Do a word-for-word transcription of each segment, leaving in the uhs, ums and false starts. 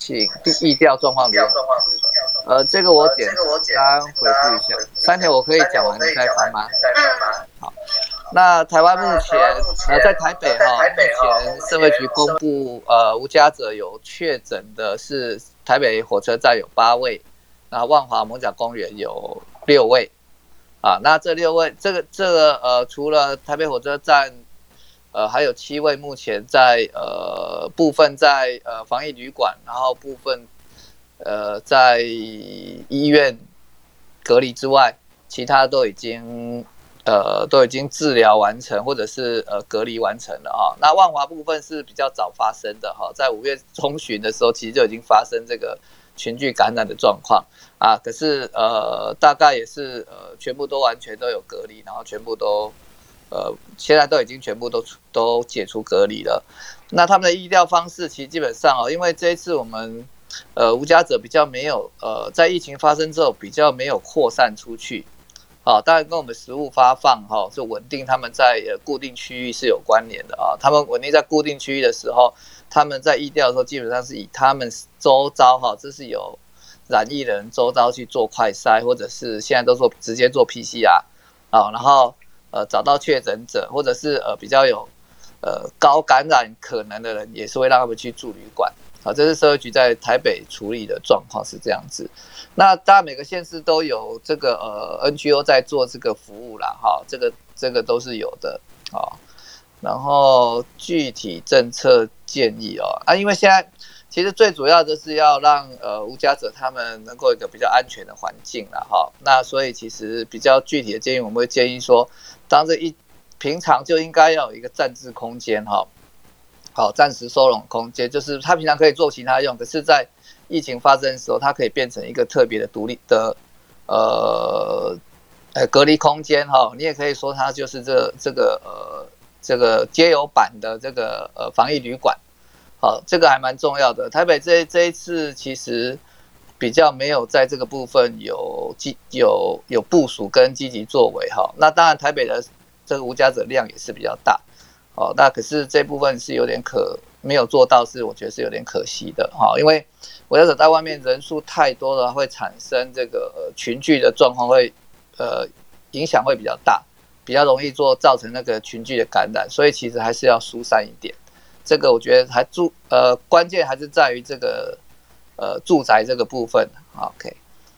请疫调状况如何？呃，这个我简单回复一下。三田我可以讲完，你再翻吗？好，那台湾目前呃在台北哈，目前社会局公布呃无家者有确诊的是台北火车站有八位，那万华艋舺公园有六位。啊，那这六位，这个这个呃，除了台北火车站，呃，还有七位目前在呃部分在呃防疫旅馆，然后部分呃在医院隔离之外，其他都已经呃都已经治疗完成，或者是呃隔离完成了哈。那万华部分是比较早发生的哈，在五月中旬的时候，其实就已经发生这个群聚感染的状况。啊，可是呃，大概也是呃，全部都完全都有隔离，然后全部都呃，现在都已经全部都都解除隔离了。那他们的疫调方式其实基本上哦，因为这一次我们呃无家者比较没有呃，在疫情发生之后比较没有扩散出去。好、哦，当然跟我们食物发放哈、哦，是稳定他们在呃固定区域是有关联的啊、哦。他们稳定在固定区域的时候，他们在疫调的时候基本上是以他们周遭哈、哦，这是有染疫的人周遭去做快筛，或者是现在都做直接做 P C R 啊、哦，然后呃找到确诊者，或者是呃比较有呃高感染可能的人，也是会让他们去住旅馆。好，这是社会局在台北处理的状况是这样子。那当然每个县市都有这个呃 N G O 在做这个服务啦，哈，这个这个都是有的啊、哦。然后具体政策建议哦啊，因为现在。其实最主要就是要让呃无家者他们能够有一个比较安全的环境啦哈。那所以其实比较具体的建议，我们会建议说，当这一平常就应该要有一个暂置空间哈，好暂时收容空间，就是他平常可以做其他用，可是在疫情发生的时候，它可以变成一个特别的独立的呃呃隔离空间哈。你也可以说它就是这这个呃这个街友版的这个呃防疫旅馆。好，这个还蛮重要的。台北这这一次其实比较没有在这个部分有有有部署跟积极作为哈。那当然台北的这个无家者量也是比较大，哦，那可是这部分是有点可没有做到，是我觉得是有点可惜的哈。因为无家者在外面人数太多了，会产生这个群聚的状况，会呃影响会比较大，比较容易做造成那个群聚的感染，所以其实还是要疏散一点。这个我觉得还住呃关键还是在于这个呃住宅这个部分。OK，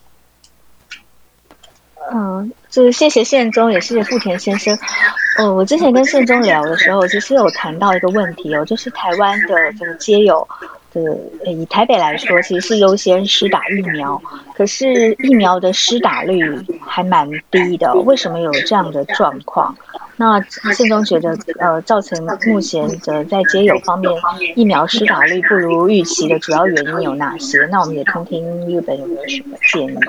嗯，就是谢谢宪忠，也谢谢富田先生。呃，我之前跟宪忠聊的时候，其实有谈到一个问题哦，就是台湾的这个街友的，以台北来说，其实是优先施打疫苗，可是疫苗的施打率还蛮低的哦，为什么有这样的状况？那宪忠觉得，呃，造成目前的在街友方面疫苗施打率不如预期的主要原因有哪些？那我们也听听日本有没有什么建议。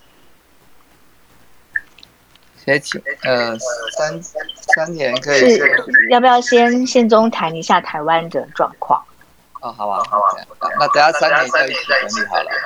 先请呃三三田可以是要不要先宪忠谈一下台湾的状况？ 哦，好啊，好，那等下三田就一起整理好了。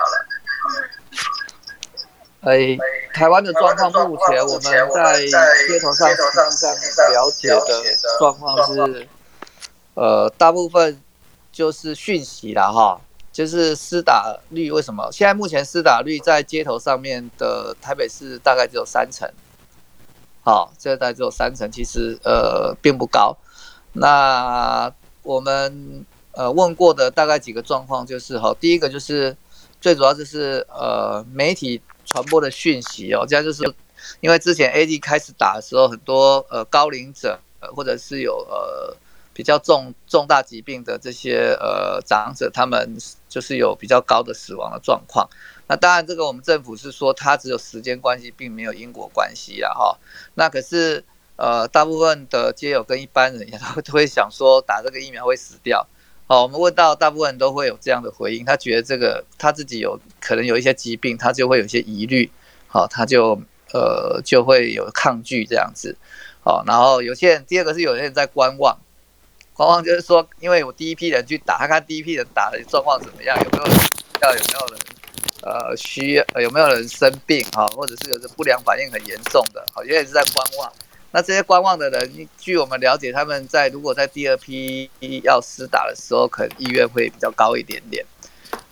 哎，台湾的状况，目前我们在街头上实际上了解的状况是，呃，大部分就是讯息啦，哈，就是施打率为什么？现在目前施打率在街头上面的台北市大概只有三成，好，这大概只有三成，其实呃并不高。那我们呃问过的大概几个状况就是哈，第一个就是最主要就是呃媒体传播的讯息哦，这样就是因为之前 A D 开始打的时候，很多呃高龄者、呃、或者是有呃比较重重大疾病的这些呃长者，他们就是有比较高的死亡的状况。那当然，这个我们政府是说它只有时间关系，并没有因果关系啦哈。那可是呃，大部分的街友跟一般人也都会想说打这个疫苗会死掉。好，我们问到大部分人都会有这样的回应，他觉得这个他自己有可能有一些疾病，他就会有一些疑虑，好，他就呃就会有抗拒这样子。好，然后有些人第二个是有些人在观望。观望就是说，因为我第一批人去打，他看第一批人打的状况怎么样，有没有人要有没有人呃需呃有没有人生病哈，或者是有不良反应很严重的，好，有点是在观望。那这些观望的人，据我们了解，他们在如果在第二批要施打的时候，可能意愿会比较高一点点。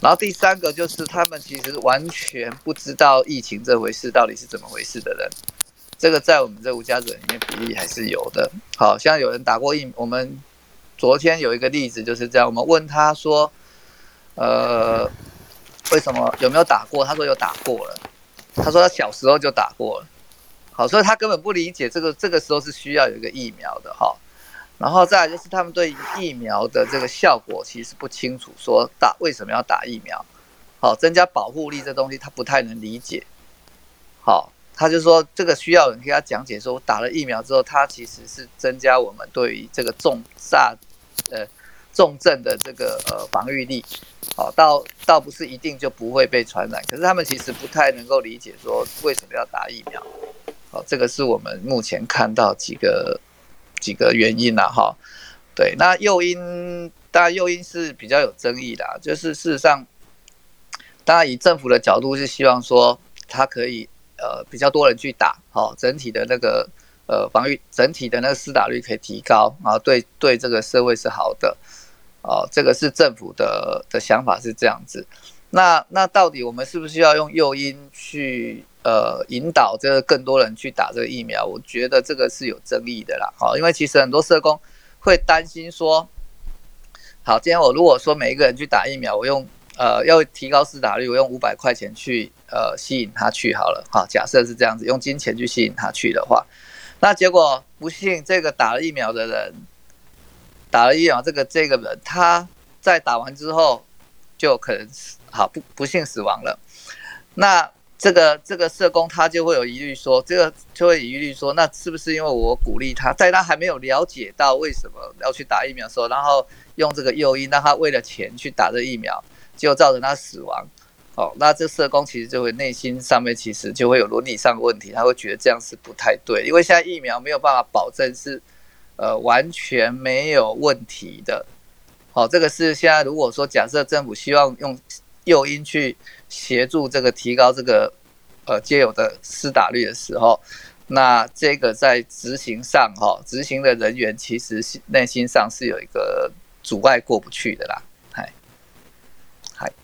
然后第三个就是他们其实完全不知道疫情这回事到底是怎么回事的人，这个在我们这无家者里面比例还是有的。好像有人打过疫，我们昨天有一个例子就是这样，我们问他说，呃，为什么有没有打过？他说有打过了，他说他小时候就打过了。好，所以他根本不理解这个这个时候是需要有一个疫苗的哈。然后再来就是他们对疫苗的这个效果其实不清楚，说打为什么要打疫苗，好，增加保护力这东西他不太能理解，好，他就说这个需要人给他讲解说打了疫苗之后，它其实是增加我们对于这个重炸呃重症的这个呃防御力，好，倒倒不是一定就不会被传染，可是他们其实不太能够理解说为什么要打疫苗，好，这个是我们目前看到几个。几个原因啦，哈，对，那诱因当然诱因是比较有争议的，就是事实上，当然以政府的角度是希望说它可以呃比较多人去打，好，整体的那个呃防御整体的那个施打率可以提高，然后对对这个社会是好的，哦，这个是政府的的想法是这样子。那那到底我们是不是要用诱因去？呃，引导这个更多人去打这个疫苗，我觉得这个是有争议的啦。好，因为其实很多社工会担心说，好，今天我如果说每一个人去打疫苗，我用呃要提高施打率，我用五百块钱去呃吸引他去好了。好，假设是这样子，用金钱去吸引他去的话，那结果不幸这个打了疫苗的人，打了疫苗这个这个人他在打完之后就可能好不不幸死亡了，那。这个这个社工他就会有疑虑说，这个就会疑虑说，那是不是因为我鼓励他，在他还没有了解到为什么要去打疫苗的时候，然后用这个诱因让他为了钱去打这疫苗，结果造成他死亡，哦，那这社工其实就会内心上面其实就会有伦理上的问题，他会觉得这样是不太对，因为现在疫苗没有办法保证是呃完全没有问题的，好，这个是现在如果说假设政府希望用诱因去协助这个提高这个呃街友的施打率的时候，那这个在执行上哈、哦，执行的人员其实内心上是有一个阻碍过不去的啦，嗨，嗨。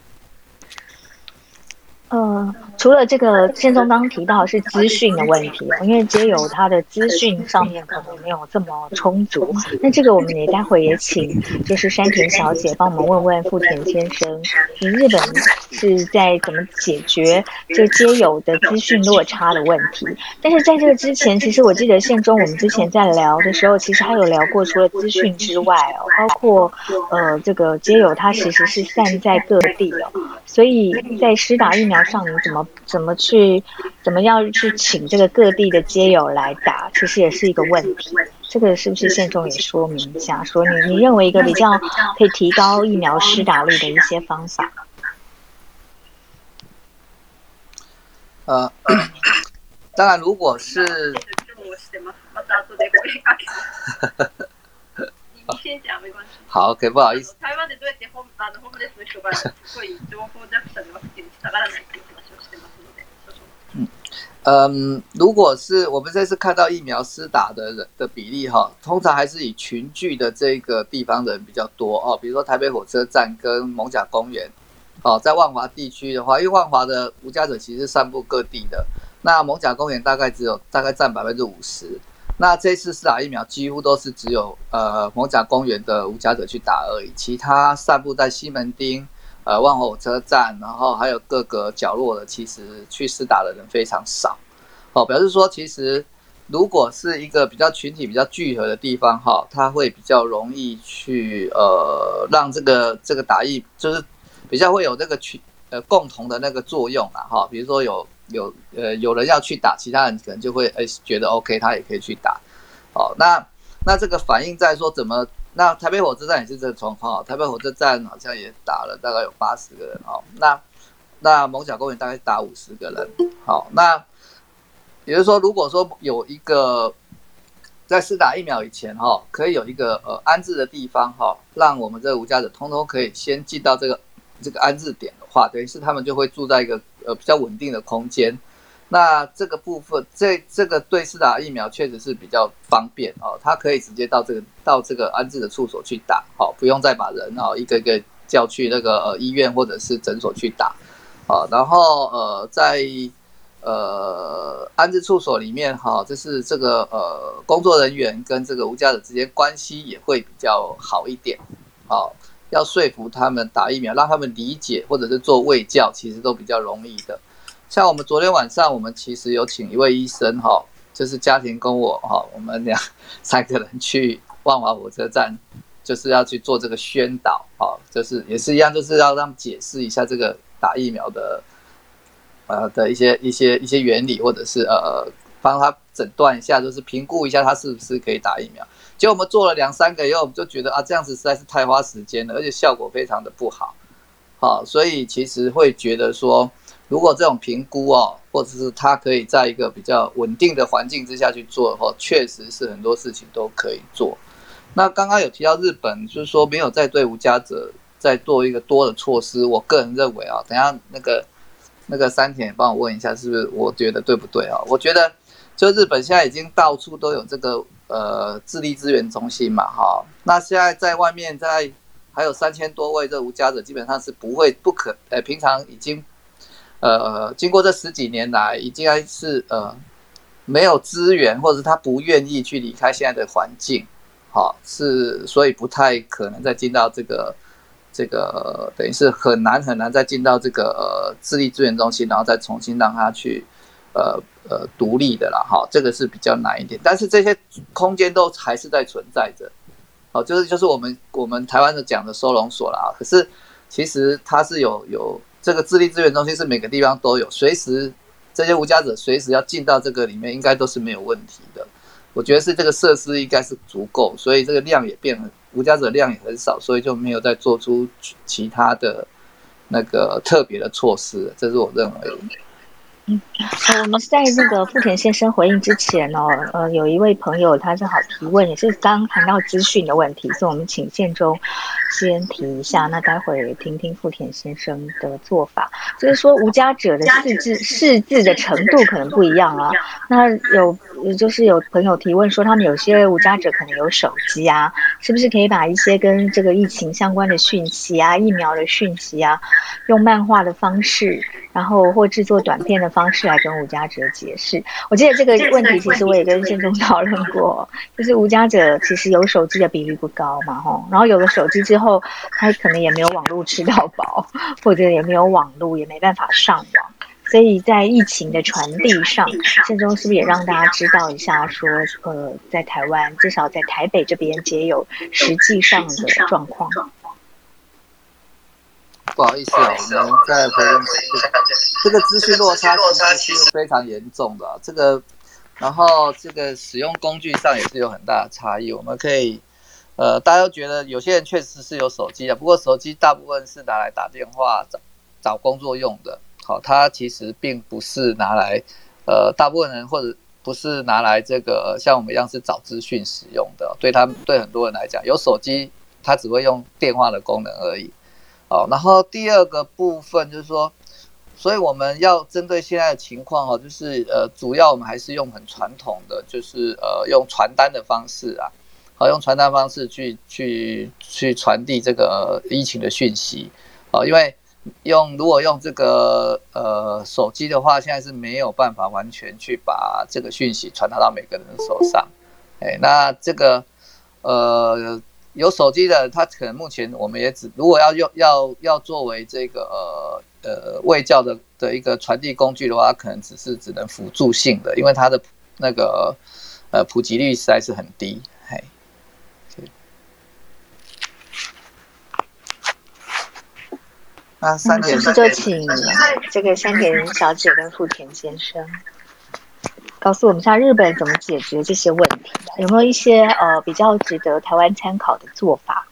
呃，除了这个宪宗刚提到是资讯的问题，因为街友他的资讯上面可能没有这么充足，那这个我们也待会也请就是山田小姐帮我们问问富田先生，就是日本是在怎么解决这个街友的资讯落差的问题。但是在这个之前，其实我记得宪宗我们之前在聊的时候，其实还有聊过除了资讯之外哦，包括呃这个街友他其实是散在各地哦，所以在施打疫苗上，你怎么怎么去怎么样去请这个各地的街友来打，其实也是一个问题。这个是不是宪宗也说明一下，说你你认为一个比较可以提高疫苗施打率的一些方法？ 呃，当然，如果是你先讲没关系。 好 ，OK， 不好意思。 台湾でどうやってホームあのホームレスの人がすごい情報弱者でワクチンに下がらないっていう話をしてますので。 嗯嗯，如果是我们这次看到疫苗施打的人的比例哈，通常还是以群聚的这个地方人比较多哦，比如说台北火车站跟艋舺公园。哦，在万华地区的话，因为万华的无家者其实是散布各地的，那艋舺公园大概只有大概占百分之五十。那这次施打疫苗几乎都是只有呃艋舺公园的无家者去打而已，其他散布在西门町、呃万华火车站，然后还有各个角落的，其实去施打的人非常少。哦，表示说其实如果是一个比较群体比较聚合的地方哈，它会比较容易去呃让这个这个打疫就是比较会有这个群呃共同的那个作用啊哈，比如说有有呃有人要去打，其他人可能就会哎觉得 OK， 他也可以去打。哦，那那这个反映在说怎么？那台北火车站也是这个状况，台北火车站好像也打了大概有八十个人哦。那那艋舺公园大概打五十个人。好，那也就是说，如果说有一个在施打疫苗以前哈，可以有一个呃安置的地方哈，让我们这个无家者通通可以先进到这个。这个安置点的话，等于是他们就会住在一个呃比较稳定的空间。那这个部分，这这个对施打疫苗确实是比较方便哦，他可以直接到这个到这个安置的处所去打，好、哦，不用再把人哦一个一个叫去那个、呃、医院或者是诊所去打。好，然后呃在呃安置处所里面哈，就是这个呃工作人员跟这个无家者之间关系也会比较好一点。好，要说服他们打疫苗，让他们理解或者是做卫教，其实都比较容易的。像我们昨天晚上，我们其实有请一位医生哈，就是家庭跟我哈，我们两三个人去万华火车站，就是要去做这个宣导哈，就是也是一样，就是要让解释一下这个打疫苗的呃的一些一些一些原理，或者是呃帮他诊断一下，就是评估一下他是不是可以打疫苗。结果我们做了两三个以后，我们就觉得啊，这样子实在是太花时间了，而且效果非常的不好。好，所以其实会觉得说，如果这种评估哦，或者是他可以在一个比较稳定的环境之下去做的话，确实是很多事情都可以做。那刚刚有提到日本，就是说没有在对无家者再做一个多的措施，我个人认为啊，等一下那个那个山田帮我问一下，是不是我觉得对不对啊？我觉得就日本现在已经到处都有这个呃智力资源中心嘛，哈，那现在在外面在还有三千多位这无家者，基本上是不会不可，呃，平常已经，呃，经过这十几年来，已经是呃没有资源，或者是他不愿意去离开现在的环境，好，是所以不太可能再进到这个这个，等于是很难很难再进到这个呃智力资源中心，然后再重新让他去呃呃独立的啦，哈，这个是比较难一点，但是这些空间都还是在存在着。哦，就是就是我们我们台湾的讲的收容所啦，可是其实它是有有这个智力资源中心是每个地方都有，随时这些无家者随时要进到这个里面，应该都是没有问题的。我觉得是这个设施应该是足够，所以这个量也变了，无家者量也很少，所以就没有再做出其他的那个特别的措施，这是我认为的。 嗯，呃，我们在那个富田先生回应之前哦，呃，有一位朋友他正好提问，也是刚谈到资讯的问题，所以我们请宪忠先提一下，那待会听听富田先生的做法。就是说，无家者的识字识字的程度可能不一样啊。那有就是有朋友提问说，他们有些无家者可能有手机啊，是不是可以把一些跟这个疫情相关的讯息啊、疫苗的讯息啊，用漫画的方式，然后或制作短片的方式来跟无家者解释？我记得这个问题其实我也跟宪忠讨论过，就是无家者其实有手机的比率不高嘛，吼，然后有了手机之后，他可能也没有网络吃到饱，或者也没有网络，也没办法上网。所以在疫情的传递上，宪忠是不是也让大家知道一下说，呃，在台湾至少在台北这边也有实际上的状况？ 不好意思啊，我们再回应这个资讯落差其实是非常严重的、啊，这个，然后这个使用工具上也是有很大的差异。我们可以，呃，大家都觉得有些人确实是有手机的，不过手机大部分是拿来打电话、找找工作用的。好，它其实并不是拿来，呃，大部分人或者不是拿来这个像我们一样是找资讯使用的。对他们对很多人来讲，有手机，它只会用电话的功能而已。好，然后第二个部分就是说，所以我们要针对现在的情况哦，就是呃，主要我们还是用很传统的，就是呃，用传单的方式啊，好，用传单方式去去去传递这个疫情的讯息，好，因为用如果用这个呃手机的话，现在是没有办法完全去把这个讯息传达到每个人的手上，哎，那这个呃。有手机的，他可能目前我们也只如果要用要要作为这个呃呃卫教的的一个传递工具的话，它可能只是只能辅助性的，因为它的那个呃普及率实在是很低。嘿，那山田、 嗯、是不是就请这个山田小姐跟富田先生告诉我们一下日本怎么解决这些问题，有没有一些呃比较值得台湾参考的做法？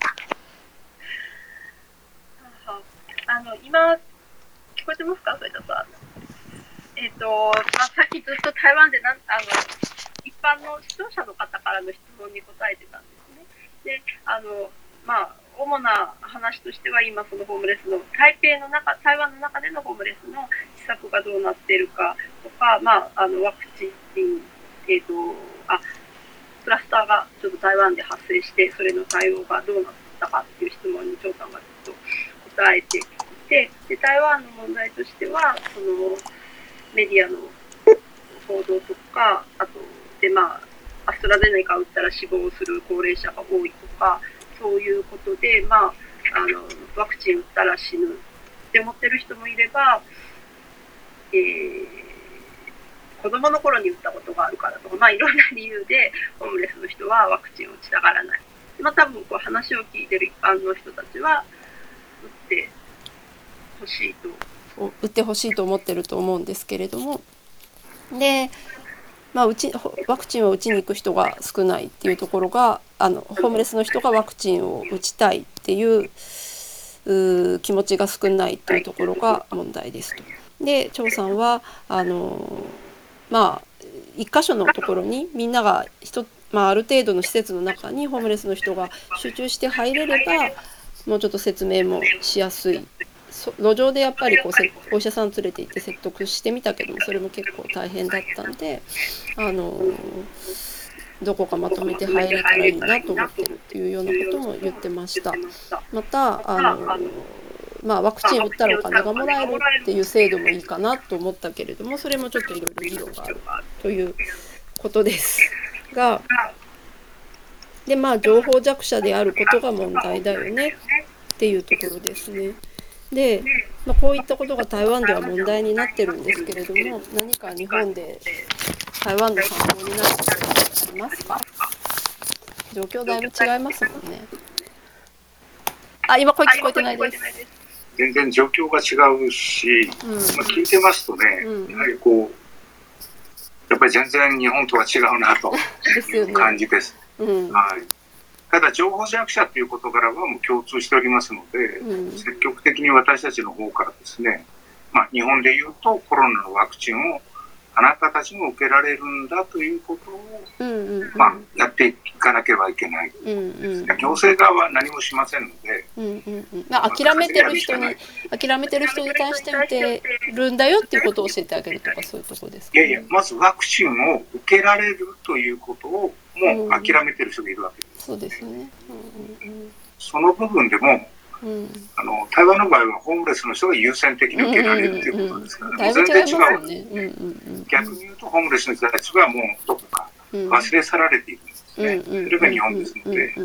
好，あの今聞こえてますか？それだとえっ、ー、とまあさっきずっと台湾でなんあの一般の視聴者の方からの質問に答えてたんですね。で、あのまあ主な話としては今そのホームレスの台北の中台湾の中でのホームレスの施策がどうなっているかとか、まああのワクチンえっ、ー、とあクラスターがちょっと台湾で発生してそれの対応がどうなったかっていう質問に長官がずっとえていて、で台湾の問題としてはそのメディアの報道とか、あとでまあアストラゼネカを打ったら死亡する高齢者が多いとか、そういうことで、まあ、あのワクチン打ったら死ぬって思ってる人もいれば、えー、子供の頃に打ったことがあるからとか、まあ、いろんな理由でホームレスの人はワクチンを打ちたがらない。まあ、多分こう話を聞いてる一般の人たちは打ってほしいと打ってほしいと思ってると思うんですけれども、で、まあ、うちワクチンを打ちに行く人が少ないっていうところが、あのホームレスの人がワクチンを打ちたいっていうう気持ちが少ないっていうところが問題ですと。で張さんはあのまあ一箇所のところにみんなが一、まあ、ある程度の施設の中にホームレスの人が集中して入れればもうちょっと説明もしやすい。路上でやっぱりこうお医者さん連れて行って説得してみたけども、それも結構大変だったんで、あのどこかまとめて入れたらいいなと思ってるっていうようなことも言ってました。またあの、まあ、ワクチン打ったらお金がもらえるっていう制度もいいかなと思ったけれども、それもちょっといろいろ議論があるということですが、でまあ情報弱者であることが問題だよねっていうところですね。で、まあ、こういったことが台湾では問題になってるんですけれども、何か日本で台湾の参考になることがありますか？状況だいぶ違いますもんね。あ、今声聞こえてないです。 全然状況が違うし、うん、まあ、聞いてますとね、うん、やはりこうやっぱり全然日本とは違うなという感じです。ですよね。うん、はい。ただ情報弱者という事柄はもう共通しておりますので、うん、積極的に私たちの方からですね、まあ、日本でいうとコロナのワクチンをあなたたちも受けられるんだということを、うんうんうん、まあ、やっていかなければいけない、うんうん、行政側は何もしませんので、うんうんうん、まあ、 諦めてる人に諦めてる人に対して打てるんだよっていうことを教えてあげるとか、そういうところですか、ね、 いやいや、まずワクチンを受けられるということをもう諦めてる人がいるわけです、 うん、そうですよね、うんうんうん、 その部分でも、うん、あの台湾の場合はホームレスの人が優先的に受けられるということですから、うんうんうん、全然違う、ね、うんうんうん、逆に言うとホームレスの人たちはもうどこか忘れ去られているんですね、うん、それが日本ですので。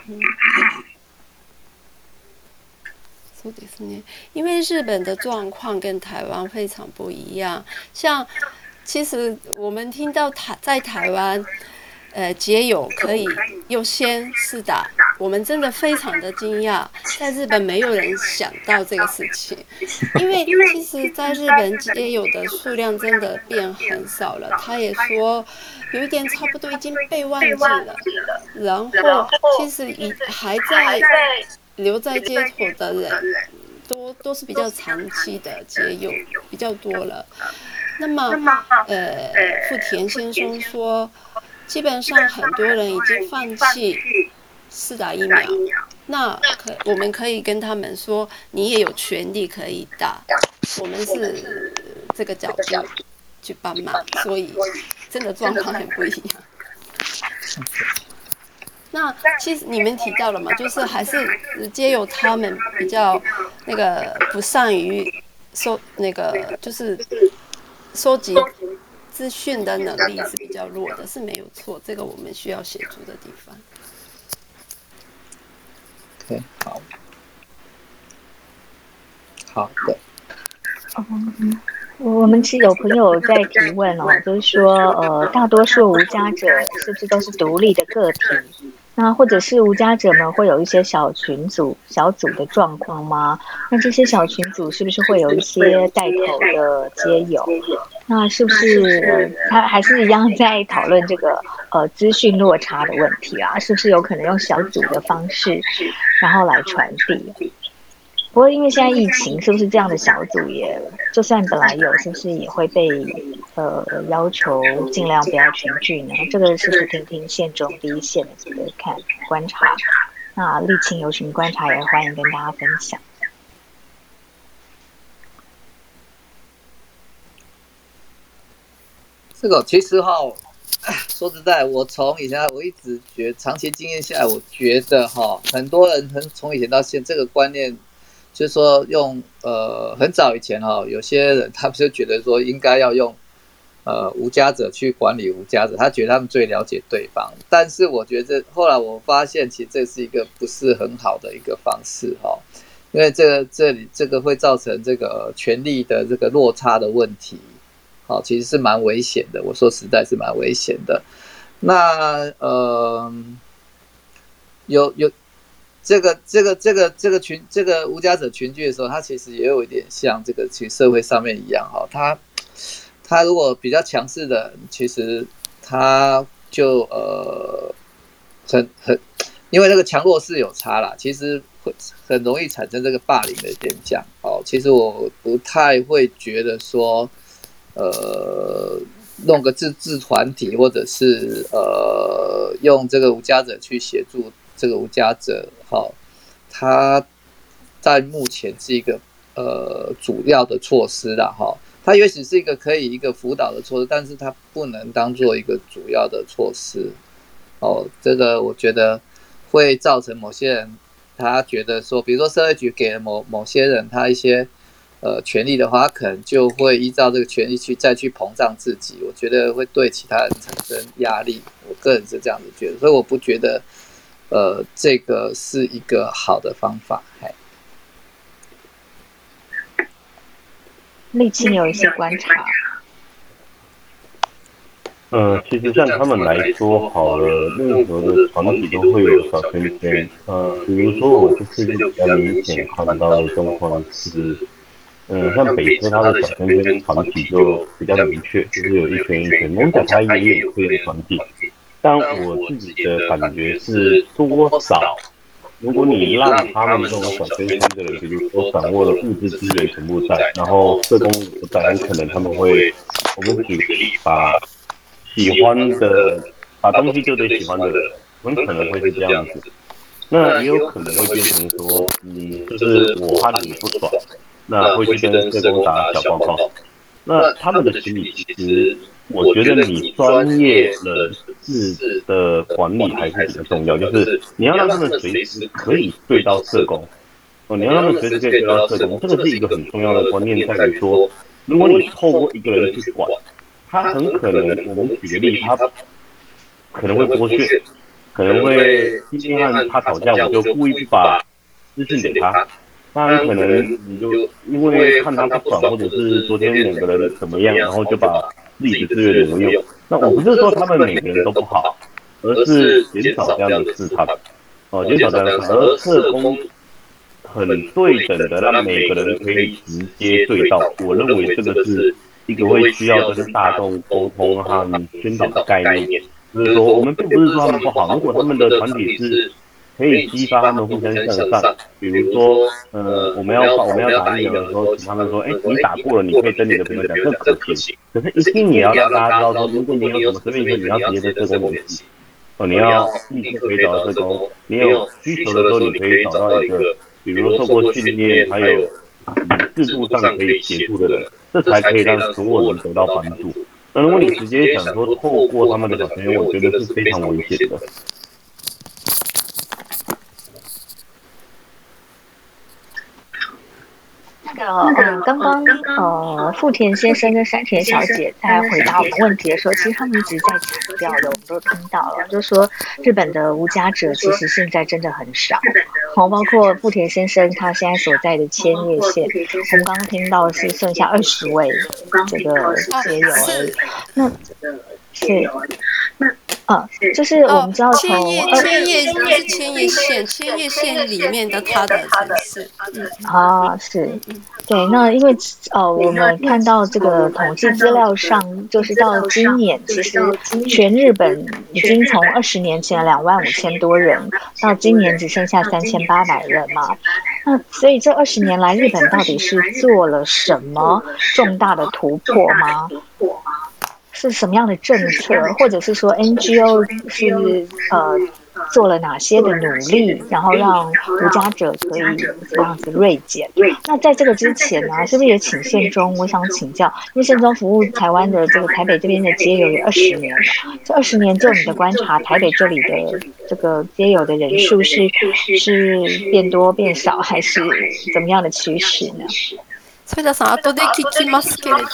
そうですね，因为日本的状况跟台湾非常不一样。像其实我们听到台在台湾，呃，街友可以优先施打，我们真的非常的惊讶。在日本没有人想到这个事情，因为其实在日本街友的数量真的变很少了。他也说，有一点差不多已经被忘记了。然后其实已还在留在街头的人，都都是比较长期的街友比较多了。那么，呃，富田先生说，基本上很多人已经放弃施打疫苗。那可我们可以跟他们说，你也有权利可以打。我们是这个角度去帮忙，所以真的状况很不一样。那其实你们提到了嘛，就是还是街友他们比较那个不善于收那个就是收集资讯的能力是比较弱的，是没有错，这个我们需要协助的地方。 对，好，好的。 嗯，我们其实有朋友在提问哦，就是说，呃，大多数无家者是不是都是独立的个体？那或者是无家者们会有一些小群组、小组的状况吗？那这些小群组是不是会有一些带头的街友？那是不是他还是一样在讨论这个呃资讯落差的问题啊？是不是有可能用小组的方式，然后来传递？不过因为现在疫情，是不是这样的小组也就算本来有，是不是也会被呃要求尽量不要群聚呢？这个是不是听听县中第一线的这个看观察？那立青有什么观察也欢迎跟大家分享。 这个其实哈，说实在，我从以前我一直觉得长期经验下来，我觉得哈，很多人从以前到现在这个观念。 就是说用呃很早以前哈、哦，有些人他们就觉得说应该要用呃无家者去管理无家者，他觉得他们最了解对方。但是我觉得后来我发现，其实这是一个不是很好的一个方式哈、哦，因为这个这里这个会造成这个权力的这个落差的问题，好、哦，其实是蛮危险的。我说实在是蛮危险的。那呃有有。这个这个这个这个群这个无家者群聚的时候，它其实也有一点像这个其实社会上面一样哈，他他如果比较强势的，其实他就呃很很，因为那个强弱势有差啦，其实会很容易产生这个霸凌的现象。哦，其实我不太会觉得说，呃，弄个自治团体或者是呃用这个无家者去协助。这个无家者，哈，他在目前是一个呃主要的措施啦，哈，它也许是一个可以一个辅导的措施，但是它不能当做一个主要的措施。哦，这个我觉得会造成某些人他觉得说，比如说社会局给了某某些人他一些呃权利的话，他可能就会依照这个权利去再去膨胀自己，我觉得会对其他人产生压力。我个人是这样子觉得，所以我不觉得。呃，这个是一个好的方法。 立青有一些观察。 呃，其实像他们来说好了，任何的团体都会有小圈圈。呃，比如说我这次就比较明显看到的状况是，呃，像北科它的小圈圈团体就比较明确，就是有一圈一圈。蒙甲它也有会员团体。但我自己的感觉是，多少，如果你让他们这种小圈圈的人，比如说掌握了物质资源全部在，然后社工不在，很可能他们会，我们举个例，把喜欢的，把东西丢给喜欢的人，很可能会是这样子。那也有可能会变成说，嗯，就是我和你不爽，那会去跟社工打小报告。那他们的心理其实。我觉得你专业人士的管理还是比较重要，就是你要让他们随时可以对到社工，哦，你要让他们随时可以对到社工，这个是一个很重要的观念，在于说，如果你透过一个人去管，他很可能，我们举个例，他可能会剥削，可能会今天和他吵架，我就故意不把资讯给他。当然可能你就因为看他不爽，或者是昨天两个人怎么样，然后就把自己的资源挪用。那我不是说他们每个人都不好，而是减少这样的试探，哦，减少这样的试探。而社工很对等的让每个人可以直接对到，我认为这个是一个会需要跟大众沟通和宣导的概念。就是说，我们并不是说他们不好，如果他们的团体是可以激发他们互相向上，比如说，呃，我们要我们要打疫苗的时候，请他们说，哎，你打过了，你可以跟你的朋友讲，这可行。可是，一定也要让大家知道说，如果你有什么生病，你要直接跟社工联系，哦，你要立刻可以找到社工，你有需求的时候，你可以找到一个，比如说受过训练，还有制度上可以协助的人，这才可以让所有人得到帮助。那如果你直接想说透过他们的小圈圈，我觉得是非常危险的。 那个，嗯，刚刚呃，富田先生跟山田小姐在回答我们问题的时候，其实他们一直在强调的，我们都听到了，就是说日本的无家者其实现在真的很少，好，包括富田先生他现在所在的千叶县，我们刚刚听到是剩下二十位这个街友而已，那是。嗯，就是我们知道从千叶千叶不是千叶县，千叶县里面的它的城市，嗯啊是，对，那因为呃我们看到这个统计资料上，就是到今年，其实全日本已经从二十年前两万五千多人，到今年只剩下三千八百人嘛。那所以这二十年来，日本到底是做了什么重大的突破吗？是什么样的政策，或者是说 N G O 是呃做了哪些的努力，然后让无家者可以这样子锐减。那在这个之前呢，是不是也请宪忠？我想请教，因为宪忠服务台湾的这个台北这边的街友也二十年了，这二十年就你的观察，台北这里的这个街友的人数是是变多变少，还是怎么样的趋势呢？ 反田さん、後で聞きますけれど。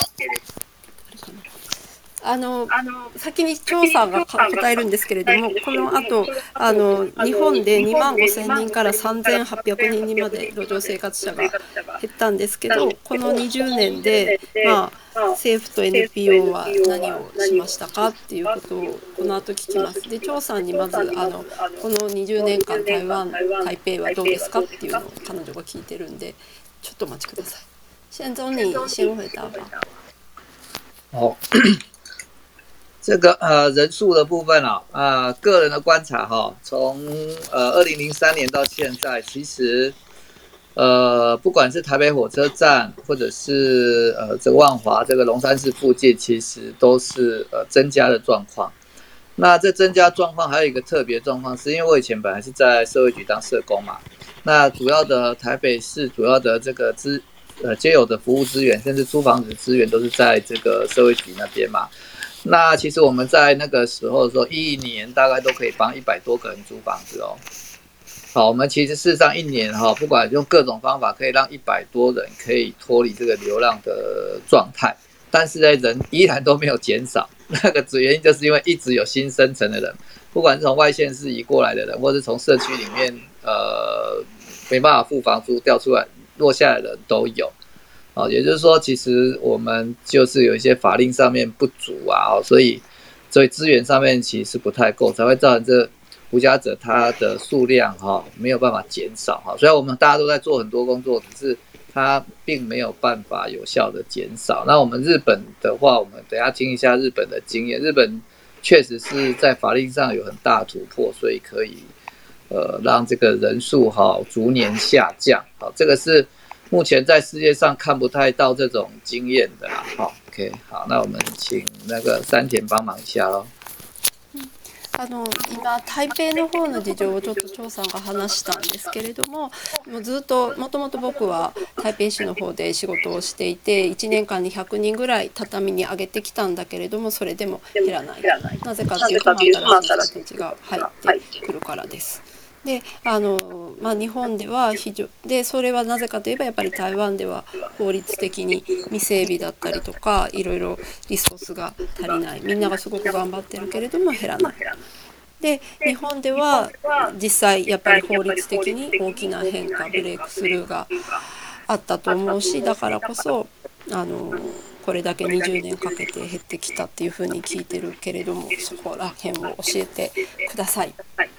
あの先に調査が答えるんですけれども、この後あの日本でにまんごせんにんからさんぜんはっぴゃくにんにまで路上生活者が減ったんですけど、このにじゅうねんで、まあ、政府と エヌピーオー は何をしましたかっていうことをこの後聞きます。で、張さんにまずあのこのにじゅうねんかん台湾台北はどうですかっていうのを彼女が聞いてるんで、ちょっとお待ちください。宪忠，你先回答吧。 好。这个呃人数的部分啊，呃个人的观察哈、哦，从呃二零零三年到现在，其实呃不管是台北火车站，或者是呃这个万华这个龙山寺附近，其实都是呃增加的状况。那这增加状况还有一个特别状况，是因为我以前本来是在社会局当社工嘛，那主要的台北市主要的这个资呃街友的服务资源，甚至租房子资源都是在这个社会局那边嘛。那其实我们在那个时候说，一年大概都可以帮一百多个人租房子哦。好，我们其实事实上一年哈，不管用各种方法，可以让一百多人可以脱离这个流浪的状态，但是呢，人依然都没有减少。那个主原因就是因为一直有新生成的人，不管是从外县市移过来的人，或是从社区里面呃没办法付房租调出来落下来的人都有。哦，也就是说，其实我们就是有一些法令上面不足啊，哦、所以所以资源上面其实是不太够，才会造成这无家者他的数量哈、哦、没有办法减少哈。虽然我们大家都在做很多工作，只是它并没有办法有效的减少。那我们日本的话，我们等一下听一下日本的经验，日本确实是在法令上有很大的突破，所以可以呃让这个人数哈、哦、逐年下降。好，这个是。目前在世界上看不太到这种经验的啦。好 ，OK， 好，那我们请那个山田帮忙一下咯。 あの今台北の方の事情をちょっと張さんが話したんですけれども、もうずっともともと僕は台北市の方で仕事をしていて、いちねんかんにひゃくにんぐらい畳に上げてきたんだけれども、それでも減らない。なぜかっていうと、新しい人たちが入ってくるからです。であのまあ、日本では非常でそれはなぜかといえばやっぱり台湾では法律的に未整備だったりとかいろいろリソースが足りない、みんながすごく頑張ってるけれども減らない。で日本では実際やっぱり法律的に大きな変化ブレイクスルーがあったと思うし、だからこそあのこれだけにじゅうねんかけて減ってきたっていうふうに聞いてるけれども、そこら辺を教えてください。